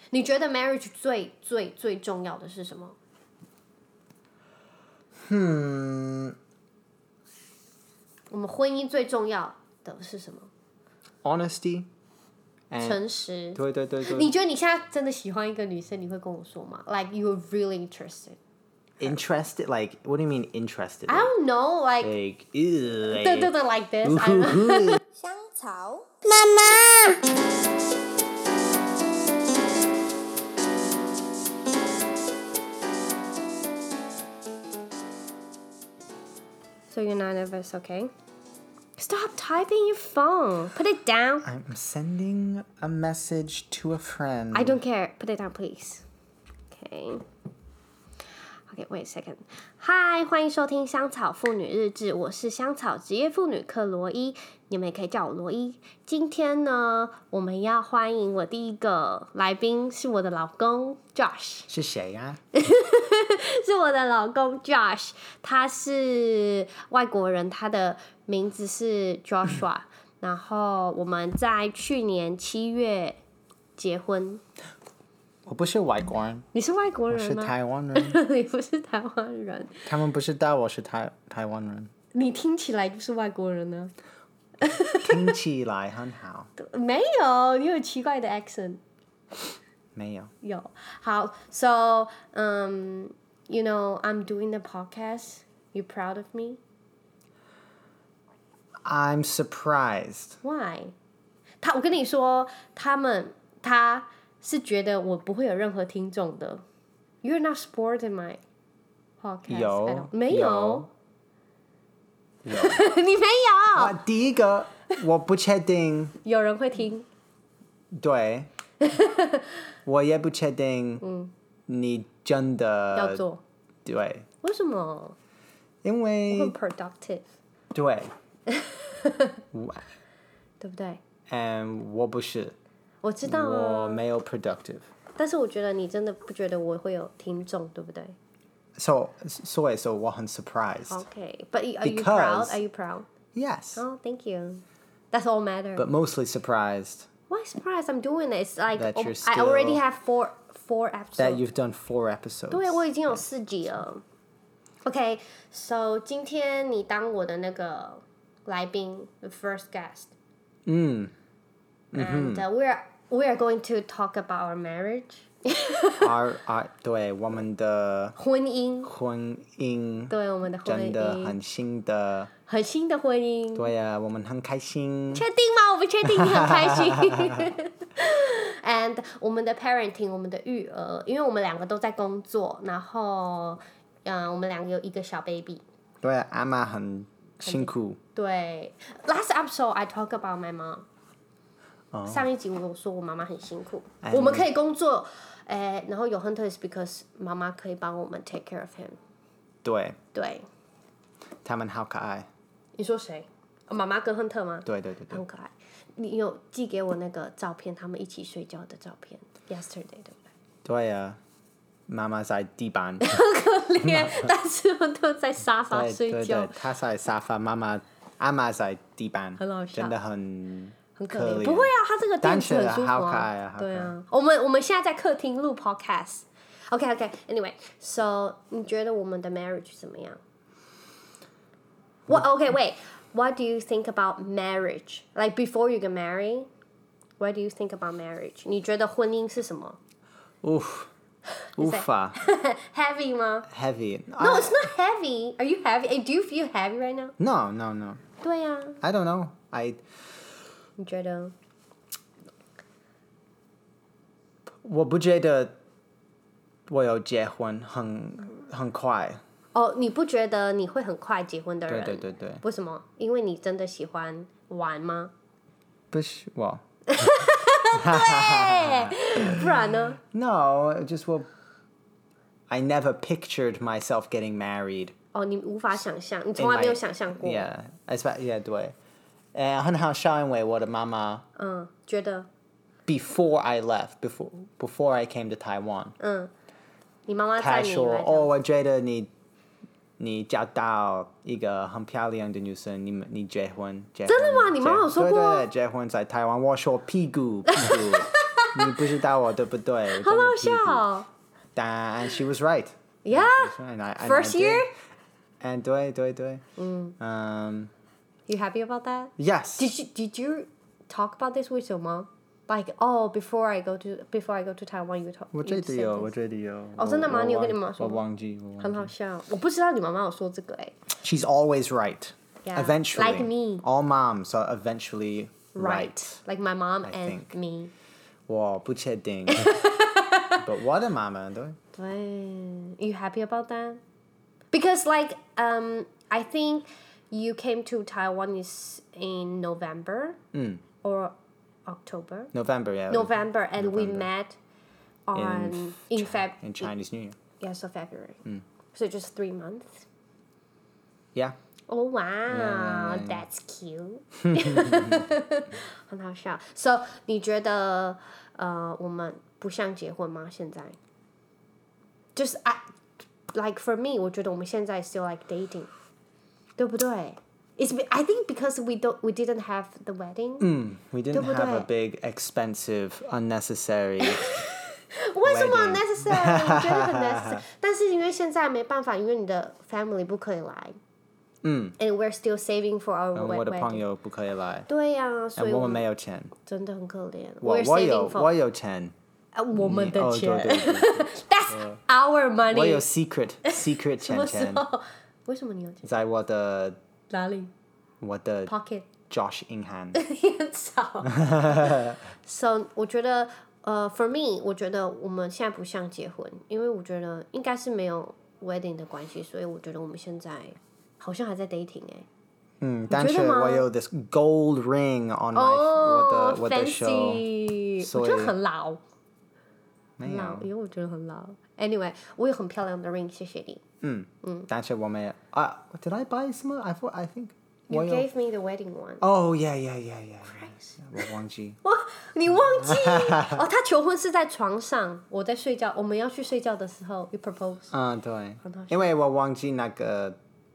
你覺得 marriage 最重要的是什麼？我們婚姻最重要的是什麼 ？Honesty， 誠實。 對。 你覺得你現在真的喜歡一個女生，你會跟我說嗎 ？Like you're really interested. Interested? Like, what do you mean interested? I don't know. Like, 对 like this. 香草媽媽。So you're not nervous, okay? Stop typing your phone. Put it down. I'm sending a message to a friend. I don't care. Put it down, please. Okay. Okay, wait a second. Hi, 歡迎收聽香草婦女日誌，我是香草職業婦女克羅伊，你們也可以叫我羅伊。今天呢，我們要歡迎我第一個來賓，是我的老公 Josh。 是誰呀？ 是我的老公 Josh， 他是外國人，他的名字是 Joshua， 然後我們在去年7月結婚。 我不是外國人。 你是外國人嗎？ 我是台灣人。 你不是台灣人。 他們不知道我是台灣人。 你聽起來就是外國人呢。 聽起來很好。 沒有，你有奇怪的 accent。 沒有。 有。好 ，so you know I'm doing the podcast. You proud of me? I'm surprised. Why? 我跟你說，他是覺得我不會有任何聽眾的。You're not supporting my podcast. 有。 沒有。你沒有。 第一個，我不確定。 有人會聽。 對。我也不確定。你真的要做。 對。 為什麼？ 因為。 我很 productive。 對。 對不對？ 我不是。 我知道啊。 我沒有 productive。 但是我覺得你真的不覺得我會有聽眾，對不對 ？So 我很 surprised. Okay, but are you proud? Are you proud? Yes. Oh, thank you. That's all matters. But mostly surprised. Why surprised? I'm doing it. It's like I already have four episodes. That you've done 4 episodes. 對，我已經有4集了。Okay, so 今天你當我的那個來賓 the first guest. And we are going to talk about our marriage. 對，我們的婚姻，對，我們的婚姻， 真的很新的婚姻。 對呀，我們很開心。 確定嗎？我不確定你很開心。And 我們的 parenting， 我們的育兒，因為我們兩個都在工作，然後我們兩個有一個小 baby。 對，阿媽很辛苦。 對 ，Last episode I talk about my mom。上一集我有說我媽媽很辛苦，我們可以工作，然後有 Hunter is because 媽媽可以幫我們 take care of him。 對。他們好可愛。 你說誰？媽媽跟 Hunter 嗎？ 對。 很可愛。你有寄給我那個照片，他們一起睡覺的照片 ，yesterday 對不對？ 對呀，媽媽在地板。 很可憐，但是我都在沙發睡覺。 對，他在沙發，阿媽在地板， 很好笑， 真的很可憐。不會啊，他這個墊子很舒服好可愛啊。 對啊，我們現在在客廳錄 podcast。Okay. So 你覺得我們的 marriage 怎麼樣？Okay, wait. What do you think about marriage? Like before you get married, what do you think about marriage? 你覺得婚姻是什麼？ 無法。 Heavy 嗎 ？Heavy. No, it's not heavy. Are you heavy? Do you feel heavy right now? No. 對啊。 I don't know. 你覺得？ 我不覺得我有結婚很快。 你不覺得你會很快結婚的人？ 對。 為什麼？因為你真的喜歡玩嗎？ 不是我。 對，不然呢 ？No, just I never pictured myself getting married. 你無法想象，你從來沒有想象過。 Yeah, 對。很好笑，因為我的媽媽覺得 before I left, before I came to Taiwan, 你媽媽在你來她說我覺得你找到一個很漂亮的女生，你結婚。 真的嗎？你媽媽有說過？ 對，結婚在台灣，我說屁股。 你不知道我對不對？ 好好笑。 但 she was right. Yeah. First year. And 對。 You happy about that? Yes. Did you talk about this with your mom? Like, before I go to Taiwan, you talk. 我覺得有。 真的嗎？你有跟你媽媽說？ 我忘記。 很好笑，我不知道你媽媽有說這個欸。 She's always right. Yeah. Eventually. Like me. All moms are eventually right. Like my mom I and think. me. 我不確定。But 我的媽媽對。 You happy about that? Because I think you came to Taiwan is in November or October. November, yeah. November, and we met in Chinese New Year. Yeah, so February. So just 3 months. Yeah. Oh wow, Yeah. That's cute. 很好笑。So 你覺得我們不像結婚嗎？現在？就是like for me, 我覺得我們現在 still like dating, 對不對？I think because we didn't have the wedding. We didn't have a big, expensive, unnecessary. 為什麼 unnecessary？ 我覺得很 necessary。但是因為現在沒辦法，因為你的 family 不可以來。And we're still saving for our wedding. 我的朋友不可以來。 對呀，所以我們沒有錢。 真的很可憐。 我有錢。 我們的錢。 對。 That's our money. 我有 secret 錢。 為什麼你有錢？ 在我的哪裡？ 我的 pocket Josh 銀行。 很少。So 我覺得for me 我覺得我們現在不像結婚，因為我覺得應該是沒有 wedding 的關係，所以我覺得我們現在好像還在 dating 但是我有 this gold ring on my 我的手， 我覺得很老。 沒有， 因為我覺得很老。Anyway， 我有很漂亮的 ring， 謝謝你。 但是我沒有Did I buy some? I think you gave me the wedding one. Oh yeah. 我忘記。 哇，你忘記？他求婚是在床上，我在睡覺，我們要去睡覺的時候 ，you propose。 對，因為我忘記那個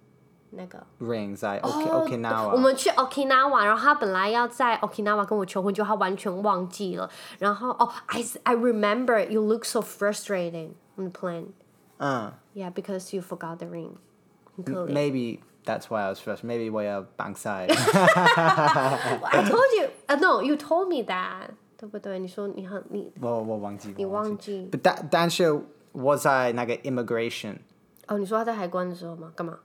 ring 在 Okinawa。 我們去 Okinawa， 然後他本來要在 Okinawa 跟我求婚，就他完全忘記了。然後I remember you look so frustrated on the plane. Yeah, because you forgot the ring. 很可憐。 Maybe that's why I was frustrated. Maybe 我要綁賽。 I told you, no, you told me that. 對不對？你說你我忘記。 你忘記。 但是我在那個 immigration。 你說他在海關的時候嗎？幹嘛？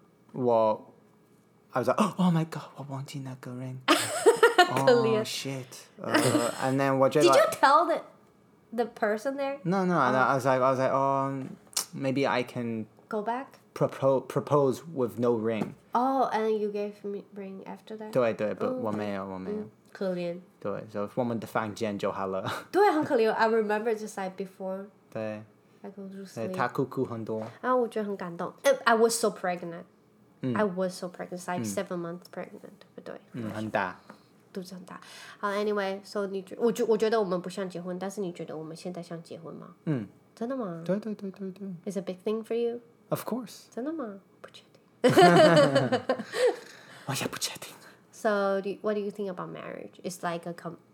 I was like, oh my god, 我忘記那個 ring. 可憐。 Shit. And then 我覺得 Did you tell the person there? No. I was like, maybe I can go back. Propose with no ring. And you gave me ring after that. 對，but 我沒有。 可憐。 對，所以我們的房間就好了。 對，很可憐。I remember just like before. 對。 I go to sleep. 他哭很多。 我覺得很感動。I was so pregnant. I was so pregnant, like 7 months pregnant， 對不對？ 很大， 肚子很大。好 ，Anyway， so 我覺得我們不像結婚，但是你覺得我們現在像結婚嗎？真的嗎？ 對。 It's a big thing for you? Of course. 真的嗎？不確定。 我也不確定。 So, what do you think about marriage? It's like a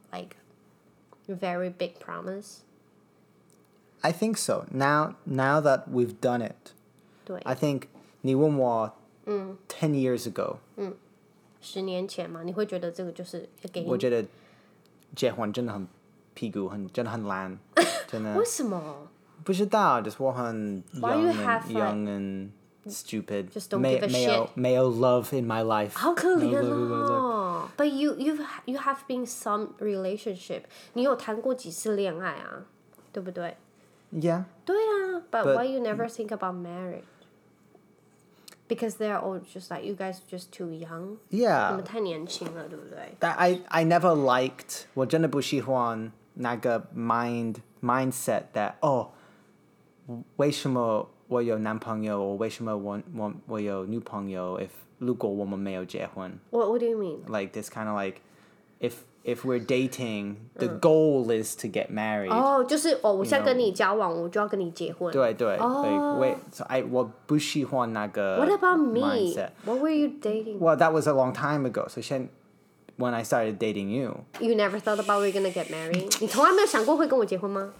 very big promise. I think so. Now that we've done it, 對。 I think 你問我10 years ago. 10年前嘛，你會覺得這個就是給你？ 我覺得結婚真的很屁股，真的很爛，真的。 為什麼？ 不知道，就是我很 young and stupid. Just don't give a shit. 沒有 love in my life. 好可憐哦。But you have been some relationship. 你有談過幾次戀愛啊？對不對？ Yeah. 對啊。But why you never think about marriage? Because they're all just like you guys just too young. Yeah. 你們太年輕了，對不對？ I never liked. 我真的不喜歡那個 mindset that 為什麼我有男朋友？為什麼我有女朋友？如果我們沒有結婚 What do you mean? Like this kind of like if we're dating, the goal is to get married. 就是我现在跟你交往，我就要跟你結婚。 對。So 我不喜歡那個 What about me? mindset. What were you dating? Well, that was a long time ago. So when I started dating you. You never thought about we're gonna get married? 你從來沒有想過會跟我結婚嗎？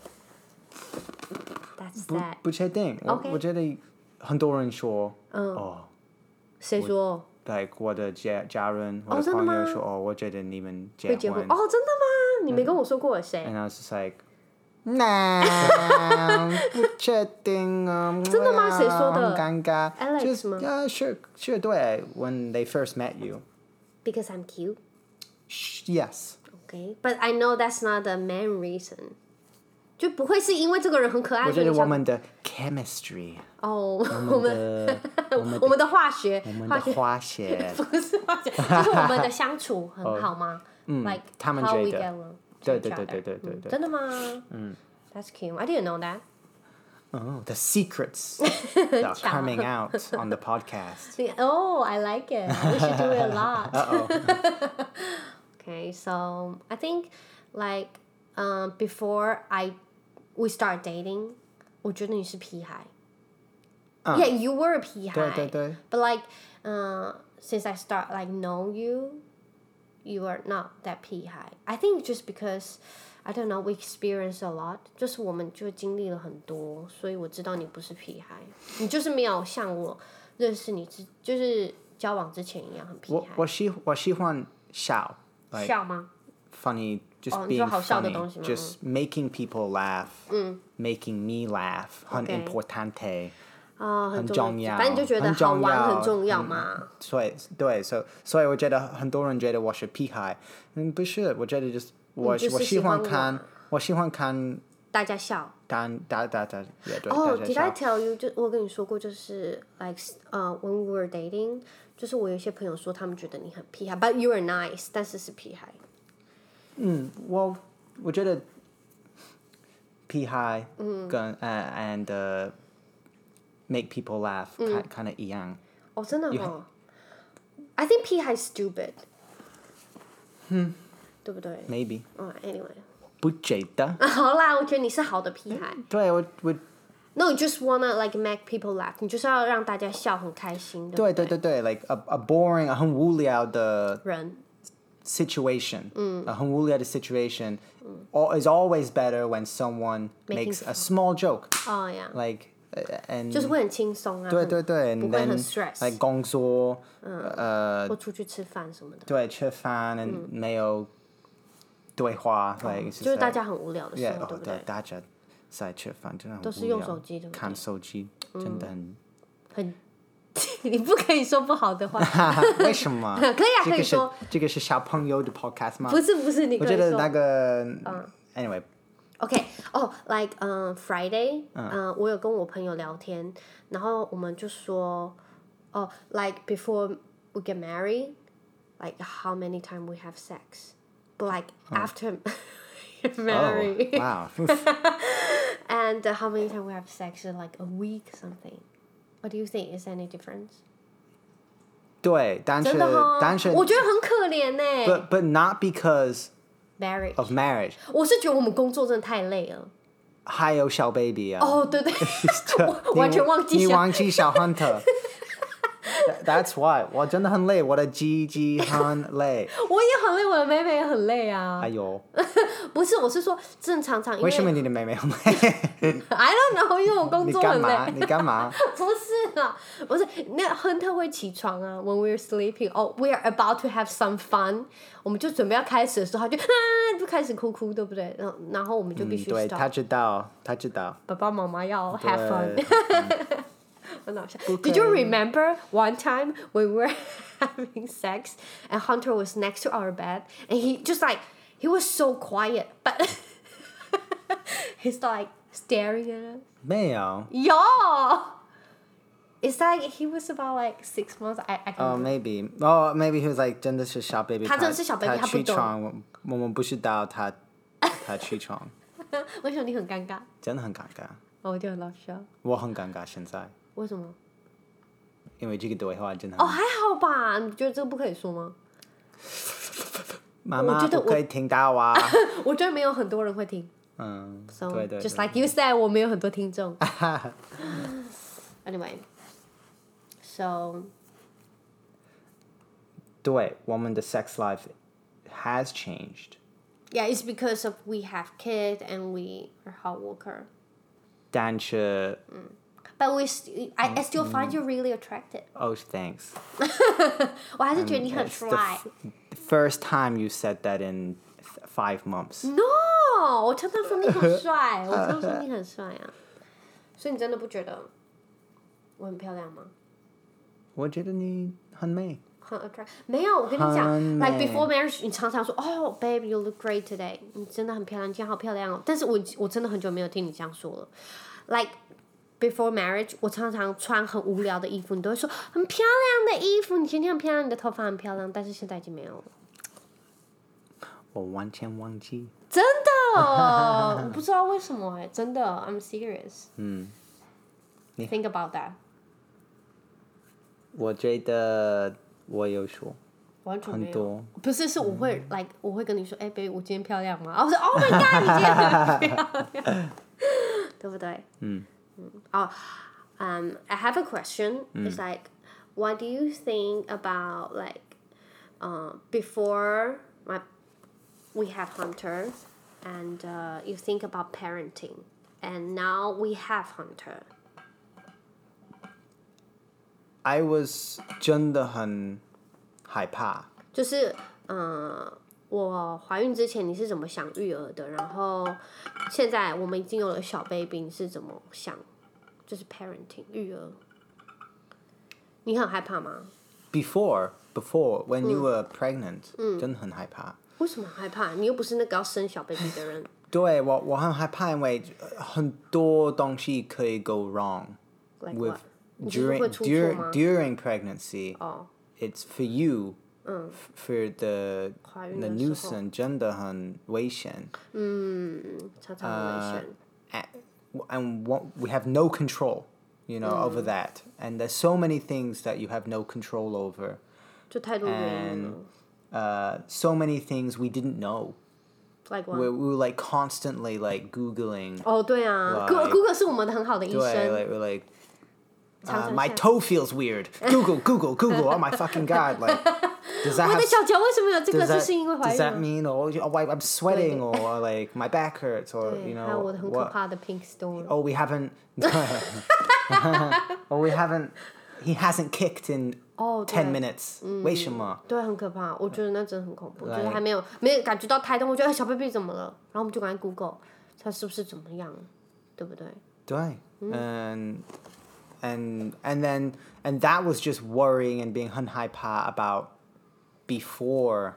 That's that. 不確定，我覺得很多人說， 誰說？ like 我的家人，我的朋友說，我覺得你們結婚。 真的嗎？你沒跟我說過誰？ And I was just like, nah, 不確定啊。 真的嗎？誰說的？ 很尷尬。 Alex 嗎？ Sure, 對。When they first met you. Because I'm cute. Yes. Okay, but I know that's not the main reason. 就不會是因為這個人很可愛。 我覺得我們的 chemistry。 我們的化學。 化學。 不是化學，就是我們的相處很好嗎？Like 他們 how 覺 we 得。 get along. 對。 真的嗎？That's cute. I didn't know that. Oh, the secrets that are coming out on the podcast. Oh, I like it. We should do it a lot. Uh-oh. Okay, so I think like before we start dating, 我覺得你是屁孩。Yeah, you were a 屁孩。 對。 But like since I start like know you, you are not that 屁孩. I think just because I don't know, we experienced a lot. 就是我們就經歷了很多，所以我知道你不是屁孩，你就是沒有像我認識你就是交往之前一樣很屁孩。 我喜歡笑。 笑嗎？ Funny, just being funny, 東西嗎？ just making people laugh, making me laugh, 很 importante. 很重要， 反正你就覺得好玩很重要嘛。 對，所以我覺得很多人覺得我是屁孩，不是，我覺得就是我喜歡看大家笑。 大家 Did I tell you？ 就我跟你說過，就是 like when we were dating， 就是我有些朋友說他們覺得你很屁孩 ，but you are nice， 但是是屁孩。 我覺得屁孩跟and make people laugh kind of 一樣。 真的嗎？ I think 屁孩 stupid。對不對 ？Maybe. Anyway。 不覺得。 好啦，我覺得你是好的屁孩。 對，我。 No, you just wanna like make people laugh. 你就是要讓大家笑很開心，對不對？ 對 ，like a boring, 很無聊的人 situation. 很無聊的 situation is always better when someone makes a small joke. Yeah. Like and 就是會很輕鬆啊。 對， 不會很 stress。 like 工作， 或出去吃飯什麼的。 對，吃飯沒有對話，like 就是大家很無聊的時候，對不對？ 大家在吃飯真的很無聊， 都是用手機，對不對？ 看手機真的很， 你不可以說不好的話。 為什麼？ 可以啊，可以說。 這個是小朋友的 podcast 嗎？ 不是，你可以說。 我覺得那個，anyway。 Okay, like Friday, 我有跟我朋友聊天，然後我們就說like before we get married, like how many times we have sex, but like after you're married, wow, and how many times we have sex in like a week or something. What do you think? Is there any difference? 對，但是我覺得很可憐呢。 But not because of marriage. 我是覺得我們工作真的太累了。 還有小 baby 啊。 對，我完全忘記你忘記小 Hunter。That's why 我真的很累，我的雞很累。 我也很累，我的妹妹也很累啊。 哎呦， 不是，我是說正常， 為什麼你的妹妹很累 ？I don't know， 因為我工作很累。 你幹嘛？ 不是啊，不是，那 Hunter 會起床啊。When we're sleeping, we are about to have some fun， 我們就準備要開始的時候，他就開始哭，對不對？然後我們就必須 stop。 對，他知道。 爸爸媽媽要 have fun。Did you remember one time we were having sex and Hunter was next to our bed and he was so quiet, but he's like staring at us. 沒有。 It's like he was about like 6 months. I can't remember. Maybe he was like 真的是小 baby. 他真的是小 baby， 他不懂。 起床，我們不知道他起床。 為什麼你很尷尬？ 真的很尷尬。 我就很搞笑。 我很尷尬現在。 為什麼？ 因為這個對話真的。 還好吧？你覺得這個不可以說嗎？ 媽媽不可以聽到啊。 我覺得沒有很多人會聽。對。Just like you said， 我沒有很多聽眾。Anyway, so 對，我們的 sex life has changed. Yeah, it's because of we have kids and we are hard worker. 但是 But I still find you really attractive. Oh, thanks. 我還是覺得你很 It's try. the first time you said that in 5 months. No, 我常常說你很帥，我常常說你很帥啊。所以你真的不覺得我很漂亮嗎？ 我覺得你很美。 很 attract 沒有，我跟你講很美 ，like before marriage，你常常說，Oh, babe, you look great today， 你真的很漂亮，你今天好漂亮哦。但是我真的很久沒有聽你這樣說了，like before marriage， 我常常穿很無聊的衣服，你都會說很漂亮的衣服，你今天很漂亮，你的頭髮很漂亮，但是現在已經沒有了。 我完全忘記。 真的，我不知道為什麼真的 ，I'm serious。Think about that。 我覺得我有說。 完全沒有。 很多。 不是，是我會like 我會跟你說，哎，baby， 我今天漂亮嗎？我說 ，Oh my God， 你今天很漂亮，對不對？I have a question. It's like, what do you think about like, before we have Hunter, and you think about parenting, and now we have Hunter. I was 真的很害怕。 就是我懷孕之前你是怎麼想育兒的？然後現在我們已經有了小 baby， 你是怎麼想？就是 parenting 育兒，你很害怕嗎 ？Before when you were pregnant，真的很害怕。 為什麼害怕？你又不是那個要生小 baby 的人。 對，我很害怕，因為很多東西可以 go wrong Like with what? during pregnancy. It's for you. For the 懷孕的時候 nuisance 真的很危險。 常常很危險。 And we have no control, over that. And there's so many things that you have no control over. 就太多原因了。 So many things we didn't know. Like what? We were like constantly like Googling. 對啊 ，Google 是我們的很好的醫生。 對 we're like, my toe feels weird. Google. Oh my fucking God! Like, does that 我的腳為什麼有這個？就是因為懷孕。 Does that mean I'm sweating or like my back hurts or 還有我的很可怕的 pink storm. Oh, we haven't. He hasn't kicked in 10 minutes. 為什麼？ 對，很可怕。我覺得那真的很恐怖。就是還沒有感覺到胎動，我覺得小 baby 怎麼了？然後我們就趕緊 Google， 他是不是怎麼樣，對不對？ 對，and that was just worrying and being 很害怕 about before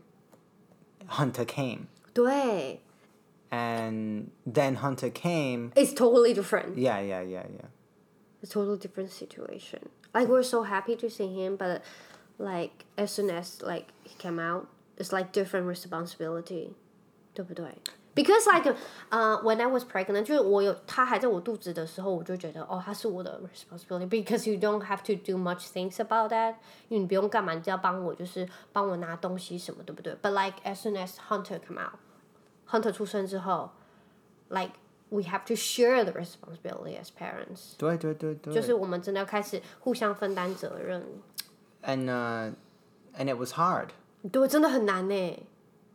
Hunter came. 對。 And then Hunter came. It's totally different. Yeah. It's a totally different situation. Like we're so happy to see him, but like as soon as like he came out, it's like different responsibility. 对不对？Because like when I was pregnant， 就是他還在我肚子的時候，我就覺得他是我的 responsibility. Because you don't have to do much things about that. 因為你不用幹嘛，你只要幫我拿東西什麼，對不對？ But like as soon as Hunter come out, Hunter 出生之後 ，like we have to share the responsibility as parents. 對。 就是我們真的要開始互相分擔責任。 And it was hard. 對，真的很難呢。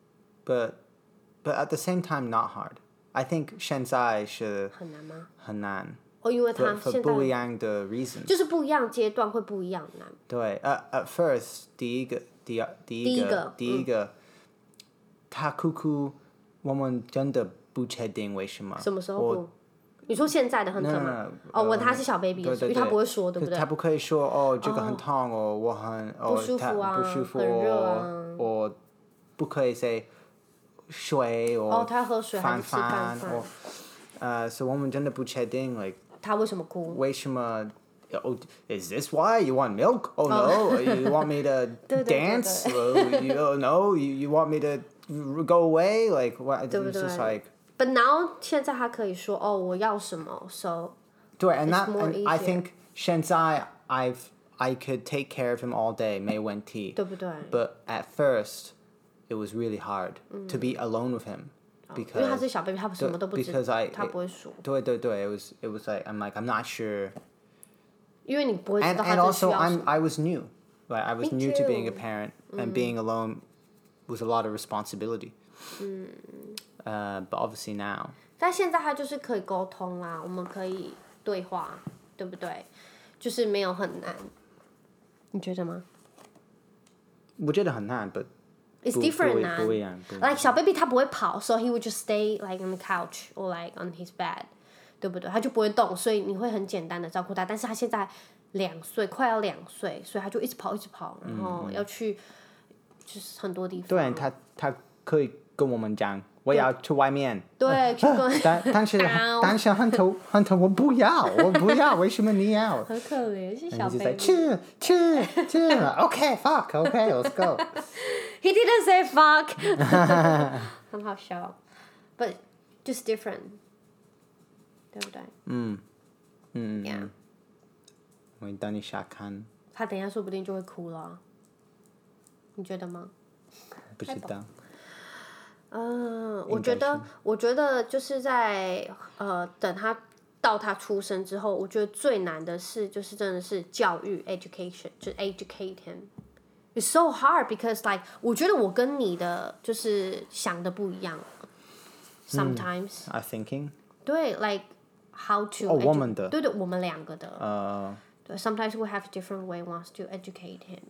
But at the same time, not hard. I think 現在是很難嗎？ 很難。 因為他現在不一樣的 reason。 就是不一樣階段會不一樣難。 對，at first 第一個，他哭哭，我們真的不確定為什麼。 什麼時候哭？你說現在的很疼嗎？問他是小 baby 的時候，因為他不會說，對不對？ 他不可以說這個很痛我很不舒服啊，很熱啊。 我不可以 say。水他要喝水還是吃飯所以我們真的不確定 like 他為什麼哭？ 為什麼？Is this why you want milk? Oh no, you want me to dance? No, you want me to go away? Like what? It's just like. But now 現在他可以說我要什麼 ，so 對 and I think 現在I could take care of him all day 沒問題， 對不對 ？But at first.It was really hard to be alone with him because 因為他是小 baby， 他什麼都不知道，他不會說。 對，it was like I'm not sure. 因為你不會知道他 and also 需要什麼。 I was new, like I was new to being a parent and being alone was a lot of responsibility. But obviously now. 但现在他就是可以沟通啦，我们可以对话，对不对？就是没有很难，你覺得嗎？ 我覺得很難 but It's different 難。 不一樣。 Like 小 baby 他不會跑 ，so he would just stay like on the couch or like on his bed， 對不對？他就不會動，所以你會很簡單的照顧他。但是他現在2歲，快要2歲，所以他就一直跑，然後要去就是很多地方。 對，他可以跟我們講。我要去外面。 對，去跟。 但是很多我不要，為什麼你要？ 很可憐，是小 baby。 去 ，OK let's go. He didn't say fuck 。很好笑 ，but just different， 對不對？Yeah。 我等一下看。 他等一下說不定就會哭了，你覺得嗎？ 不知道。 我覺得就是在等他到他出生之後，我覺得最難的是就是真的是教育 education， 就 educate him。It's so hard because like 我覺得我跟你的就是想的不一樣。Sometimes。 I thinking。 對 ，like how to。 我們的。 對，我們兩個的。對 ，sometimes we have different way wants to educate him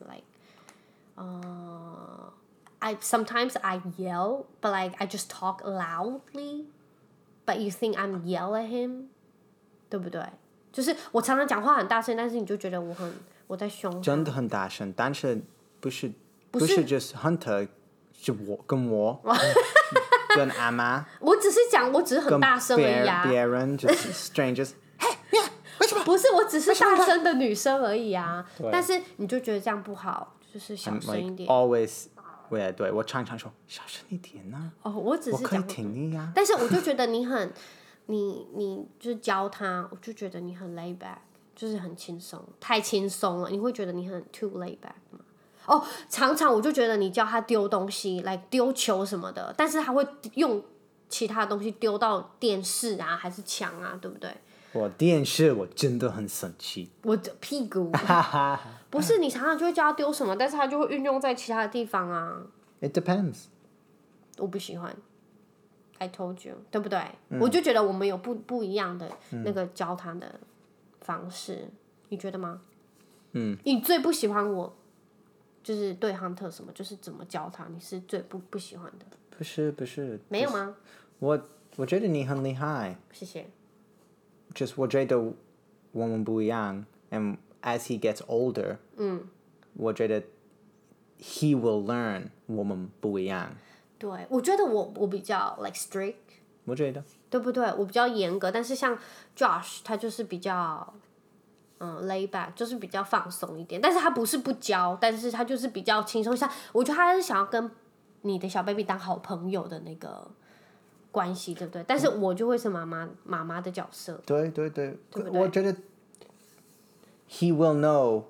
like。Sometimes I yell, but like I just talk loudly. But you think I'm yell at him， 對不對？就是我常常講話很大聲，但是你就覺得我在兇他。 真的很大聲，但是不是 just Hunter， 是我跟阿媽。我只是很大聲而已啊。別人就是 strangers， 嘿，為什麼？ 不是，我只是大聲的女生而已啊。但是你就覺得這樣不好，就是小聲一點。 Always。對，我常常說小聲一點呢。 我只是講。 我可以聽你呀。 但是我就覺得你就是教他，我就覺得你很 lay back， 就是很輕鬆，太輕鬆了。你會覺得你很 too lay back 嗎？常常我就覺得你教他丟東西，來丟球什麼的，但是他會用其他東西丟到電視啊，還是牆啊，對不對？ 我電視我真的很生氣。 我的屁股。不是，你常常就會叫他丟什麼，但是他就會運用在其他的地方啊。 It depends。 我不喜歡。I told you， 對不對？我就覺得我們有不一樣的那個教他的方式，你覺得嗎？你最不喜歡我，就是對 Hunter 什麼，就是怎麼教他，你是最不喜歡的。 不是。 沒有嗎？ 我覺得你很厲害。 謝謝。 就是我覺得我們不一樣 ，and as he gets older，我覺得 he will learn 我們不一樣。 對，我覺得我比較 like strict， 我覺得， 對不對？我比較嚴格，但是像 Josh 他就是比較lay back， 就是比較放鬆一點。但是他不是不教，但是他就是比較輕鬆。像我覺得他是想要跟你的小 baby 當好朋友的那個關係，對不對？但是我就會是媽媽的角色。 對， 對不對？ 我覺得 he will know，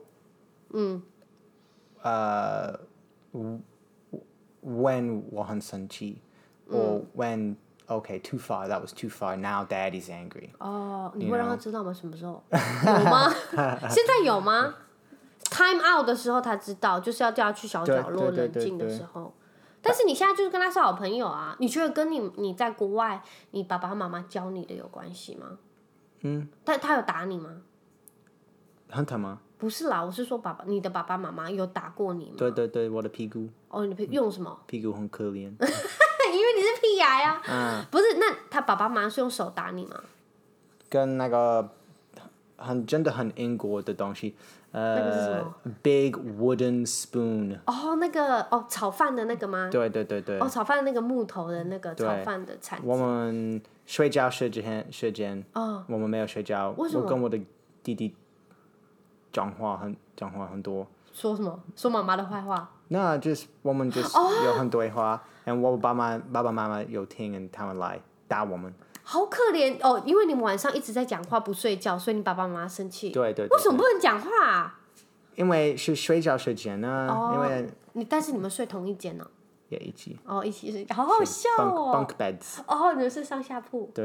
when 我很生氣，or when okay too far, that was too far, now daddy's angry。 你會讓他知道嗎？什麼時候？有嗎？現在有嗎？Time out 的時候他知道，就是要叫他去小角落冷靜的時候。但是你現在就是跟他是好朋友啊，你覺得跟你在國外，你爸爸媽媽教你的有關係嗎？但他有打你嗎 ？Hunter嗎？ 不是啦，我是說你的爸爸媽媽有打過你嗎？ 對，我的屁股。 你的用什麼？ 屁股很可憐。因為你是屁孩啊。不是，那他爸爸媽媽是用手打你嗎？ 跟那個真的很英國的東西。 那個是什麼 ？Big wooden spoon。 那個炒飯的那個嗎？ 對。 炒飯的那個木頭的那個炒飯的鏟子。 我們睡覺時間，我們沒有睡覺。 為什麼？ 我跟我的弟弟講話很多。 說什麼？說媽媽的壞話？ 那就是我們有很多對話，我爸爸媽媽有聽，他們來打我們。好可憐因為你們晚上一直在講話不睡覺，所以你爸爸媽媽生氣。 對。 為什麼不能講話啊？ 因為是睡覺時間呢。因為但是你們睡同一間呢？ 也一起。 一起睡，好好笑哦。 Bunk beds。 你們是上下鋪。 對。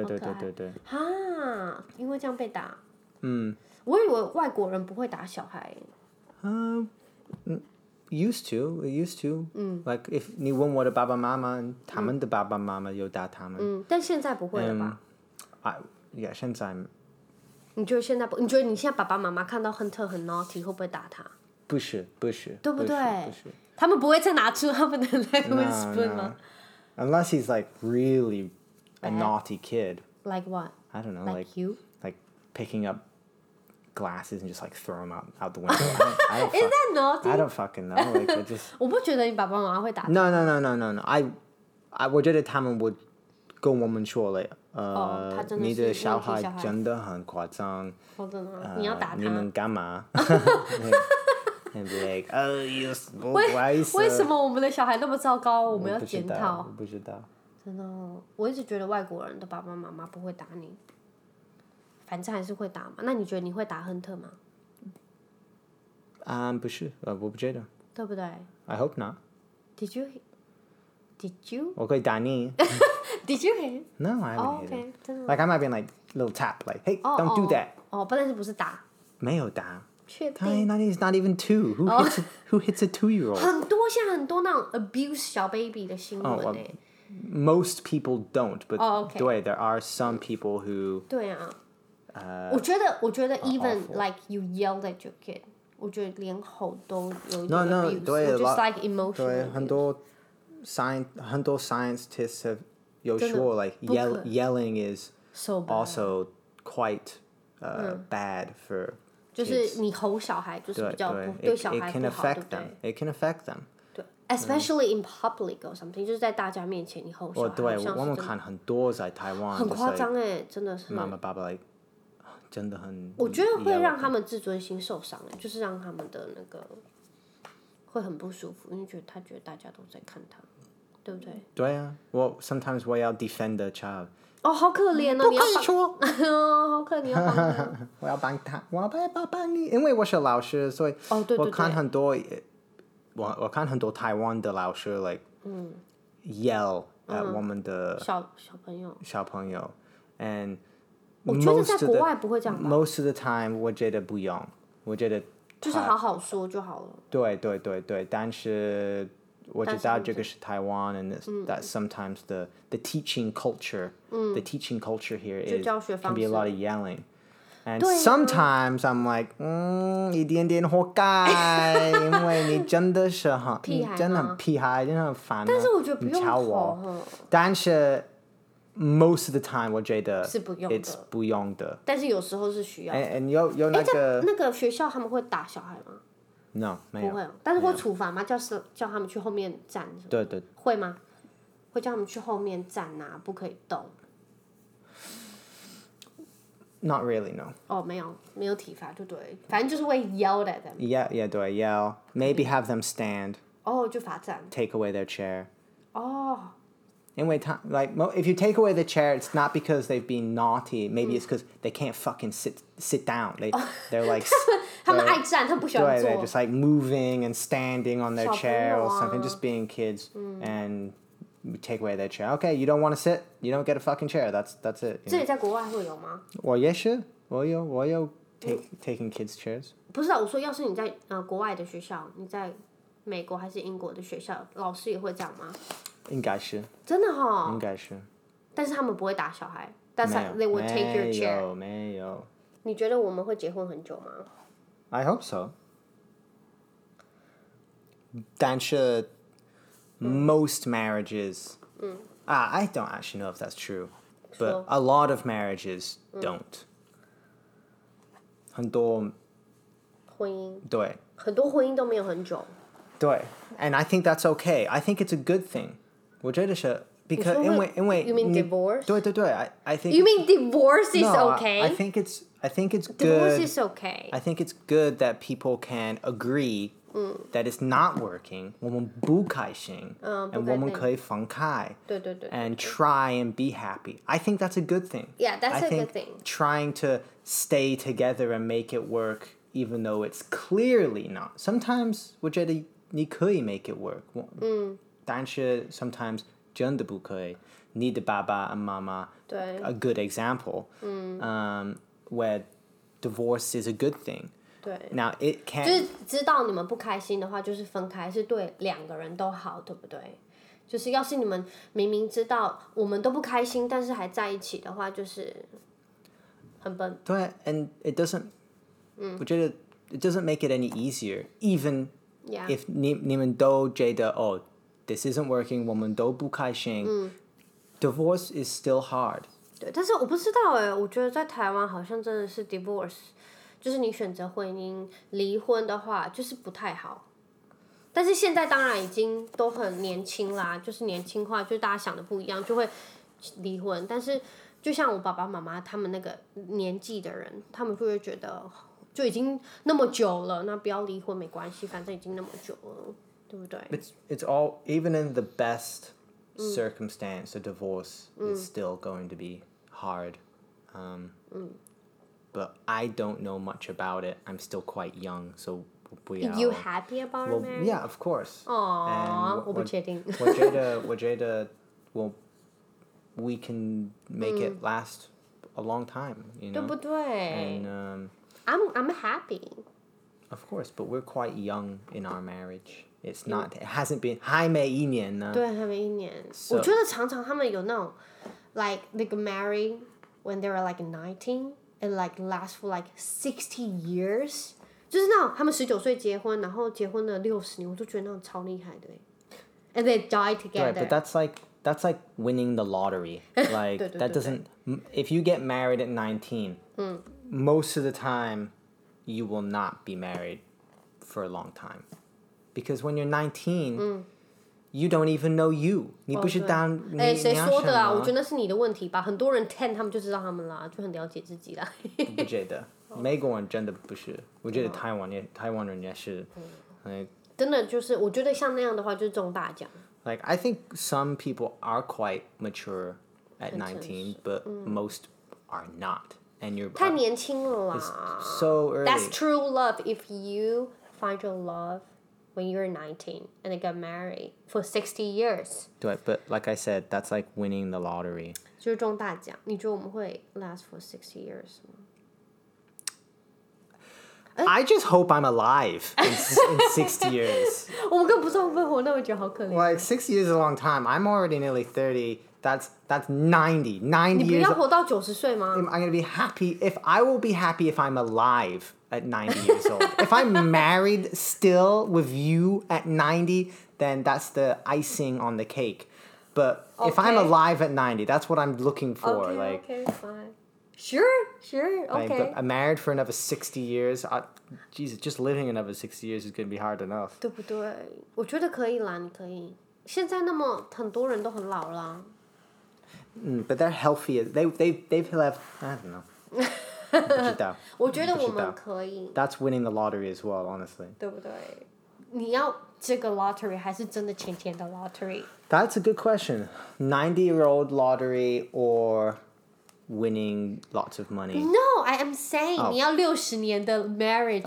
因為這樣被打。我以為外國人不會打小孩。 Used to. Like if 你問我的爸爸媽媽，他們的爸爸媽媽有打他們。 但現在不會了吧 ？Yeah， 現在。 你覺得現在不？你覺得你現在爸爸媽媽看到亨特很 naughty 會不會打他？ 不是， 對不對？ 不是。 他們不會再拿出他們的 lemon spoon 嗎 ？Unless he's like really a naughty kid. Like what? I don't know. Like you? Like picking up glasses and just like throw them out the window. I don't Is that naughty? I don't fucking know. Like I just. 我不覺得你爸爸媽媽會打。 No.我覺得他們會跟我們說了，你的小孩真的很誇張。 你要打他？ 你們幹嘛？And be like, you 為什麼我們的小孩那麼糟糕？我們要檢討。 我不知道。 真的我一直覺得外國人的爸爸媽媽不會打你，反正還是會打嘛。那你覺得你會打亨特嗎？ 不是，我不覺得。 對不對 ？I hope not. Did you? 我可以打你。 Did you hit? No, I haven't hit him. Like I might be like little tap, like, hey, don't do that. 但是不是打？ 沒有打。 確定 ？He's not even 2. Who hits a 2-year-old? 現在很多那種 abuse 小 baby 的新聞欸。 Most people don't, but okay. 對 there are some people who. 對啊。我覺得 even like you yelled at your kid， 我覺得連吼都有一點 abuse。 對 just like emotional。 對，很多 scientists have 有說 like yelling is also quite bad for。 就是你吼小孩就是比较對小孩不好，对不对 ？It can affect them. 对 ，especially in public or something， 就是在大家面前你吼小孩。 对，我們看很多在台灣。 很誇張欸，真的是。 媽媽爸爸like真的很。 我覺得會讓他們自尊心受傷欸，就是讓他們的那個會很不舒服，因為他覺得大家都在看他，對不對？ 對啊，sometimes 我要 defend the child。 好可憐哦！ 不可以說。 好可憐，要幫他。 我要幫他，我要幫你，因為我是老師，所以我看很多，我看很多台灣的老師 like yell at 我們的小朋友，and 我覺得在國外不會這樣吧。 Most of the time 我覺得不用，我覺得就是好好說就好了。 對，但是。我知道這個是台灣 and that sometimes the teaching culture the teaching culture here can be a lot of yelling and sometimes I'm like 一點點活該因為你真的是你真的很屁孩真的很煩但是我覺得不用吼但是 most of the time 我覺得是不用的 it's 不用的但是有時候是需要 and 有那個學校他們會打小孩嗎 No， 沒有。 不會，但是會處罰嗎？叫他們去後面站。 對。 會嗎？會叫他們去後面站啊，不可以動。 Not really, no. 沒有體罰就對，反正就是會 yell at them. Yeah, 對 yell. Maybe have them stand. 就罰站。 Take away their chair. 因為like if you take away the chair, it's not because they've been naughty. Maybe it's because they can't fucking sit down. They're like 他們愛站，他們不喜歡坐。 They're just like moving and standing on their chair or something, just being kids, and we take away their chair. Okay, you don't want to sit, you don't get a fucking chair. That's it. 這裡在國外會有嗎？ 我也是，我有 taking kids chairs. 不是啊，我說要是你在國外的學校，你在美國還是英國的學校，老師也會這樣嗎？ 應該是。 真的齁。 應該是。 但是他們不會打小孩。That's like they would take your chair. 沒有。 你覺得我們會結婚很久嗎 ？I hope so. 但是 most marriages, I don't actually know if that's true, but a lot of marriages don't. 很多婚姻。 對。 很多婚姻都沒有很久。 對 and I think that's okay. I think it's a good thing. 我覺得是 because 因為 You mean divorce? 對 I think You mean divorce is okay? I think it's good. Divorce is okay. I think it's good that people can agree that it's not working. 我們不開心 and 我們可以分開對 and try and be happy. I think that's a good thing. Yeah, that's a good thing. Trying to stay together and make it work even though it's clearly not. Sometimes 我覺得你可以 make it work. 但是 sometimes 真的不可以。你的爸爸和媽媽 a good example where divorce is a good thing. 對。 Now it can 就是知道你們不開心的話，就是分開，是對兩個人都好，對不对？就是要是你們明明知道我們都不開心，但是還在一起的話，就是很笨。 对 ，and it doesn't，我覺得 it doesn't make it any easier. Even if 你們都覺得this isn't working，我們都不開心，divorce is still hard. 对，但是我不知道我覺得在台灣好像真的是 divorce， 就是你選擇婚姻離婚的話，就是不太好。但是現在當然已經都很年輕啦，就是年輕化，就大家想的不一樣，就會離婚。但是就像我爸爸媽媽他們那個年紀的人，他們就會覺得就已經那麼久了，那不要離婚沒關係，反正已經那麼久了，對不對？ It's all even in the best circumstance, a divorce is still going to be hard. But I don't know much about it. I'm still quite young, so. You happy about it, marriage? Yeah, of course. 我不確定。 我覺得we can make it last a long time, you know? 對不对 And I'm happy. Of course, but we're quite young in our marriage. It hasn't been 还沒一年呢。 對，還沒一年。我覺得常常他們有那種 like they get married when they were like 19 and like last for like 60 years.就是那种他們19歲結婚，然後結婚了60年，我都覺得那種超厲害的。And they die together. Right, but that's like winning the lottery. Like that doesn't. If you get married at 19, most of the time, you will not be married for a long time, because when you're 19, you don't even know you. 你不是當誰說的啊？我覺得那是你的問題吧。很多人 10他們就知道他們啦，就很了解自己啦。 不覺得。美國人真的不是，我覺得台灣人也是， 真的就是我覺得像那樣的話就是中大獎。 Like I think some people are quite mature at 19, but most are not, and you're 太年輕了啦。 So early. That's true love. If you find your love when you're 19 and they got married for 60 years. 对 but like I said, that's like winning the lottery. 就是中大獎。你覺得我們會 last for 60 years 嗎？ I just hope I'm alive in 60 years. 我們根本不知道會不會活那麼久，好可憐。 Like 60 years is a long time. I'm already nearly 30. That's 90 years. 你不要活到90歲嗎？ I'm gonna be happy if I will be happy if I'm alive at 90 years old. If I'm married still with you at 90, then that's the icing on the cake. But if I'm alive at 90, that's what I'm looking for. Okay, fine. Sure, okay. But I'm married for another 60 years. Jesus, just living another 60 years is going to be hard enough. 对不对？我覺得可以啦，你可以。現在那麼很多人都很老啦。 But they're healthy. They've left. I don't know. 不知道。 我覺得我們可以。 That's winning the lottery as well, honestly. 對不對？你要這個 lottery 還是真的錢的 lottery? That's a good question. 90-year-old lottery or winning lots of money? No, I am saying 你要60年的 marriage.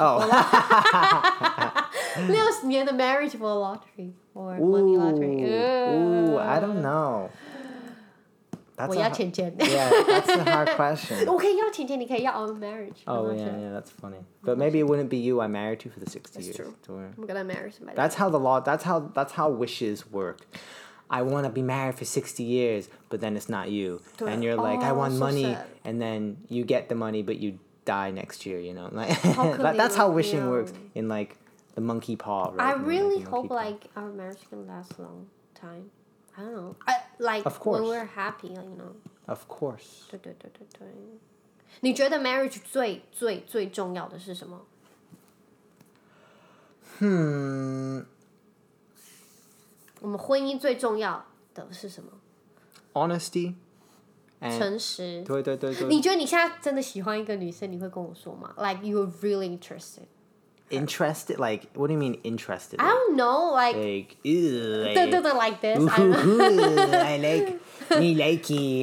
60年的 marriage for lottery or money lottery. Ooh, I don't know. 我要錢。 Yeah, that's a hard question. 我可以要錢，你可以要 our marriage. Oh yeah, that's funny. But maybe it wouldn't be you I married to for the 60 years. That's true. I'm gonna marry somebody. That's how wishes work. I want to be married for 60 years, but then it's not you. And you're like, I want money, and then you get the money, but you die next year, you know? Like that's how wishing works in like the monkey paw, right? I really hope like our marriage can last a long time. I don't know. Like of course. when we're happy, you know. Of course. 对。你覺得 marriage 最重要的是什麼？我們婚姻最重要的是什麼 ？Honesty. 誠實。 對。 你覺得你現在真的喜歡一個女生，你會跟我說嗎 ？Like you're really interested. Interested? Like, what do you mean interested? I don't know. Like, ew, like, like this. I like, me likey.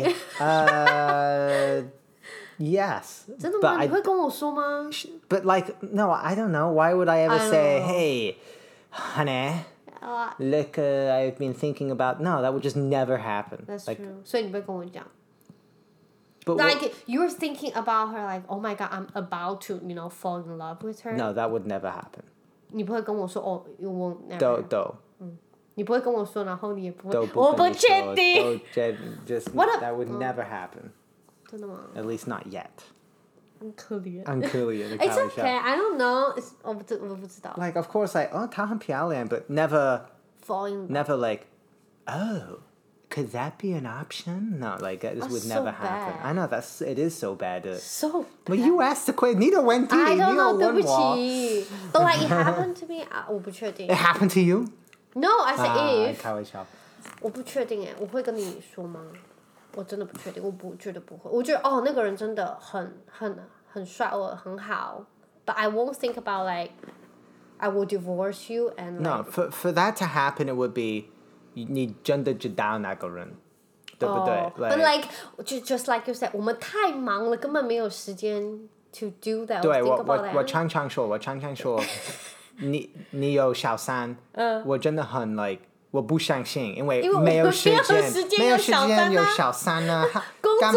Yes. 真的嗎？你會跟我說嗎 But like, no, I don't know. Why would I ever say, hey, honey, look, I've been thinking about... No, that would just never happen. That's like, true. 所以你會跟我講 But like you're thinking about her, like, oh my god, I'm about to, fall in love with her. No, that would never happen. 你不会跟我说哦 ，you won't never. 都。 你不会跟我说，然後你也不會。 我不確定。 Just that would never happen. 真的嗎 At least not yet. 很可憐。 很可憐。 It's okay. I don't know. 我不知道。 Like of course, like 她很漂亮 but never. Fall in love. Never like, oh, could that be an option? No, like this would never happen. I know it is so bad. So bad. But you asked the question. 你的問題 I don't know. 你有問我。 對不起。But like it happened to me. 我不確定。 It happened to you? No, I said if. 開玩笑。 我不確定我會跟你說嗎？我真的不確定，覺得不會。我覺得那個人真的很帥，很好。But I won't think about like I will divorce you and. No, for that to happen, it would be 你真的知道那個人，對不對？ But like just like you said， 我們太忙了，根本沒有時間 to do that. 對， think about that. 我常常說，你有小三，我真的很 like 我不相信，因為沒有時間有小三啊， 工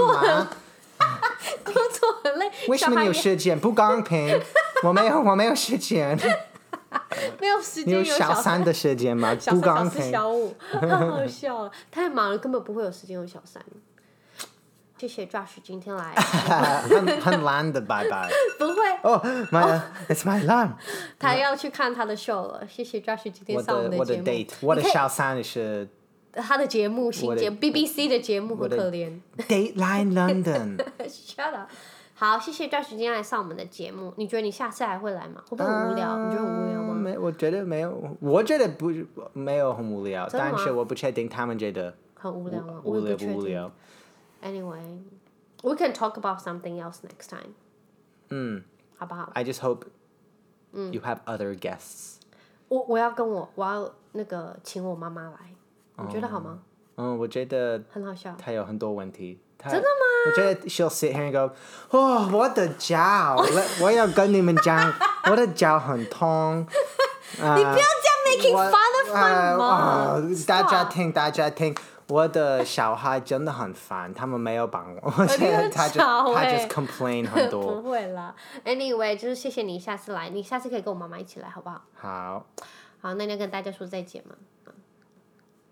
作很累， 為什麼你有時間？不公平，我沒有時間。 沒有時間有小三的時間嗎？ 不公平。小五，好笑，太忙了，根本不會有時間有小三。謝謝 Josh 今天來。 很懶的，拜拜。 不會。 It's my alarm。 他要去看他的 show 了，謝謝 Josh 今天上我們的節目。 我的 date， 我的小三是。 他的節目新節目 BBC 的節目很可憐。 Dateline London。Shut up。好，謝謝 Josh 今天來上我們的節目。你覺得你下次還會來嗎？會不會很無聊？你覺得很無聊嗎？ 我覺得沒有，我覺得沒有很無聊，但是我不確定他們覺得很無聊嗎？ 無聊。 Anyway, we can talk about something else next time. 好不好 I just hope you have other guests. 我要那個請我媽媽來，你覺得好嗎？ 我覺得很好笑。 她有很多問題。 真的嗎？ 我覺得 she'll sit here and go, 我的腳，我要跟你們講，我的腳很痛。 你不要這樣 making fun of my mom. 大家聽，我的小孩真的很煩，他們沒有幫我。他 just complain 很多。 不會啦 ，Anyway， 就是謝謝你下次來，你下次可以跟我媽媽一起來，好不好？ 好， 那你要跟大家說再見嗎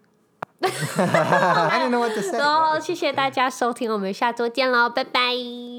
？I don't know what to say. 謝謝大家收聽，我們下周見嘍，拜拜。